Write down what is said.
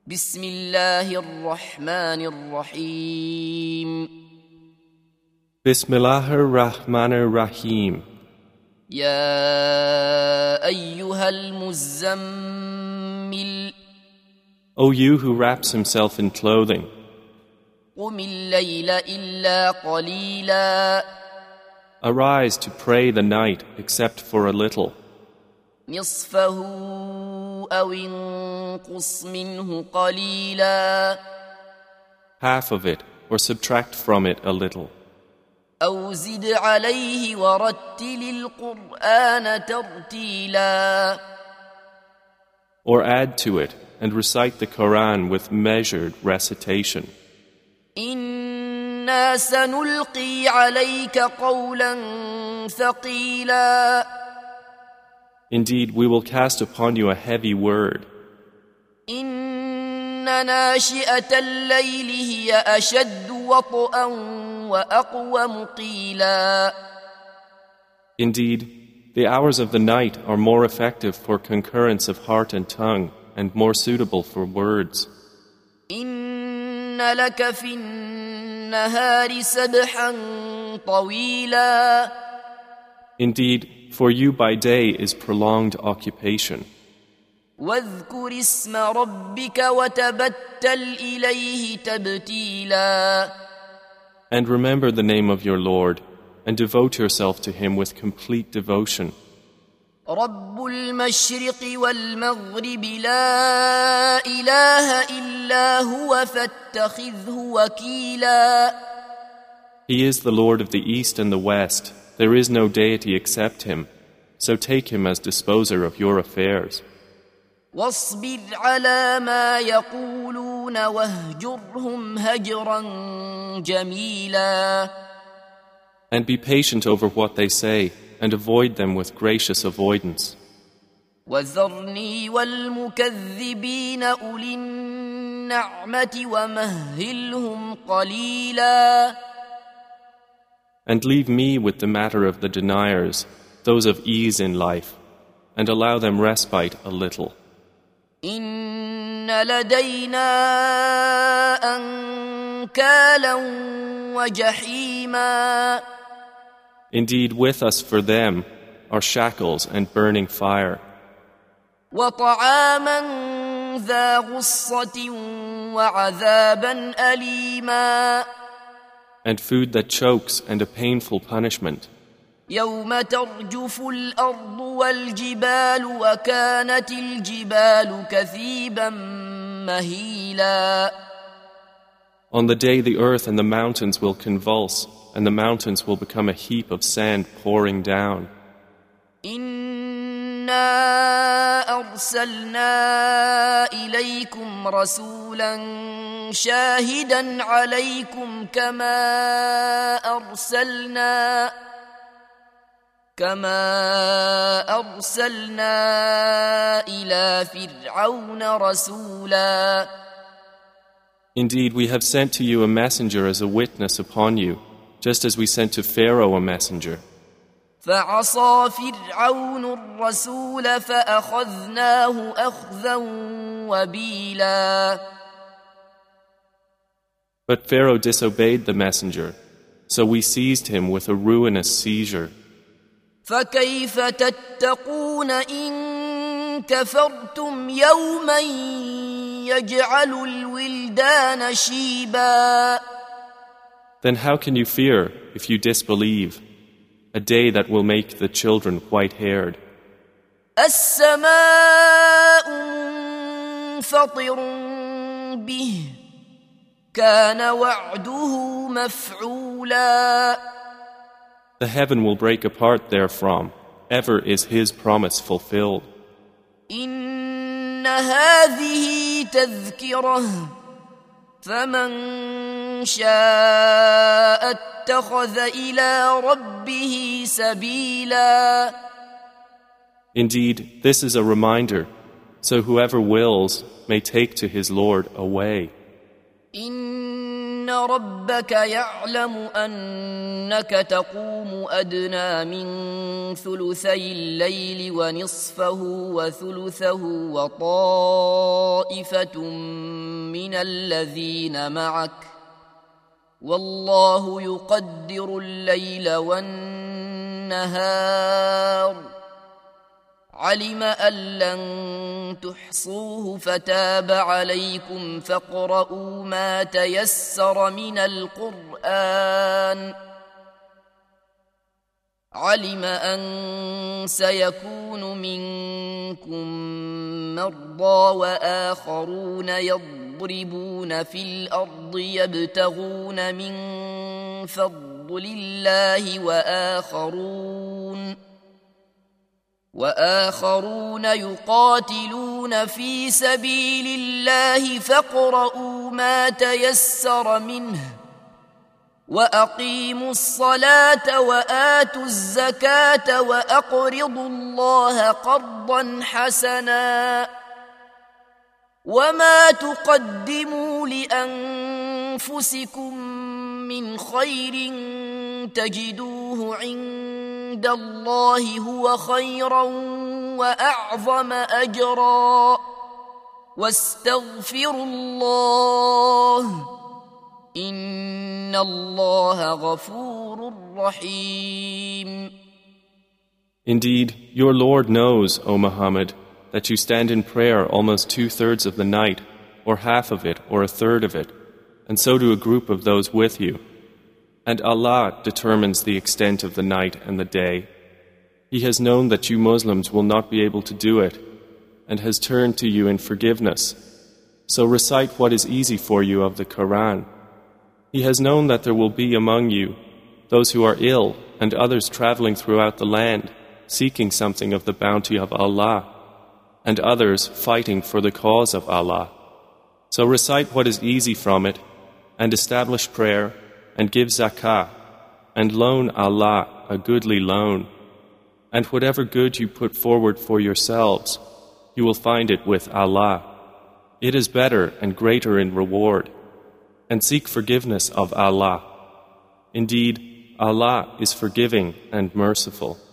بسم الله الرحمن الرحيم Bismillahir Rahmanir Rahim. يا أيها المزمل O you who wraps himself in clothing, قم الليل إلا قليلا arise to pray the night except for a little, نصفه أو انقص منه قليلا half of it, or subtract from it a little, أو زد عليه ورتل القرآن ترتيلا or add to it and recite the Quran with measured recitation. إنا سنلقي عليك قولا ثقيلا Indeed, we will cast upon you a heavy word. إن ناشئة الليل هي أشد وطئا وأقوم قيلا Indeed, the hours of the night are more effective for concurrence of heart and tongue and more suitable for words. إن لك في النهار سبحا طويلا Indeed, for you by day is prolonged occupation. واذكر اسم ربك وتبتل إليه تبتيلا And remember the name of your Lord, and devote yourself to Him with complete devotion. رب المشرق والمغرب لا إله إلا هو فاتخذه وكيلا He is the Lord of the East and the West. There is no deity except Him. So take Him as disposer of your affairs. واصبر على ما يقولون واهجرهم هجرا جميلا And be patient over what they say, and avoid them with gracious avoidance. وذرني والمكذبين أولي النعمة ومهلهم قليلا And leave me with the matter of the deniers, those of ease in life, and allow them respite a little. إن لدينا أنكالا وجحيما Indeed, with us for them are shackles and burning fire, وطعاما ذا غصة وعذابا أليما and food that chokes and a painful punishment. يوم ترجف الأرض والجبال وكانت الجبال كثيبا مهيلا On the day the earth and the mountains will convulse, and the mountains will become a heap of sand pouring down. إنا أرسلنا إليكم رسولا شاهدا عليكم كما أرسلنا إلى فرعون رسولا Indeed, we have sent to you a messenger as a witness upon you, just as we sent to Pharaoh a messenger. فعصى فرعون الرسول فأخذناه أخذا وبيلا But Pharaoh disobeyed the messenger, so we seized him with a ruinous seizure. فكيف تتقون إن كفرتم يوما يجعل الولدان شيبا Then how can you fear if you disbelieve a day that will make the children white-haired? السماء منفطر به كان وعده مفعولا The heaven will break apart therefrom. Ever is His promise fulfilled. إن هذه تذكرة فمن شاء اتخذ إلى ربه سبيلا Indeed, this is a reminder, so whoever wills may take to his Lord a way. إن ربك يعلم أنك تقوم أدنى من ثلثي الليل ونصفه وثلثه وطائفة من الذين معك والله يقدر الليل والنهار علم أن لن تحصوه فتاب عليكم فاقرؤوا ما تيسر من القرآن علم أن سيكون منكم مرضى وآخرون يضربون في الأرض يبتغون من فضل الله وآخرون يقاتلون في سبيل الله فاقرؤوا ما تيسر منه وأقيموا الصلاة وآتوا الزكاة وأقرضوا الله قرضا حسنا وما تقدموا لأنفسكم من خير تجدوه عند الله هو خيرا وأعظم أجرا واستغفروا الله إن الله غفور رحيم. Indeed, your Lord knows, O Muhammad, that you stand in prayer almost 2/3 of the night, or half of it, or 1/3 of it, and so do a group of those with you. And Allah determines the extent of the night and the day. He has known that you Muslims will not be able to do it, and has turned to you in forgiveness. So recite what is easy for you of the Quran. He has known that there will be among you those who are ill and others traveling throughout the land, seeking something of the bounty of Allah, and others fighting for the cause of Allah. So recite what is easy from it, and establish prayer, and give zakah, and loan Allah a goodly loan. And whatever good you put forward for yourselves, you will find it with Allah. It is better and greater in reward. And seek forgiveness of Allah. Indeed, Allah is forgiving and merciful.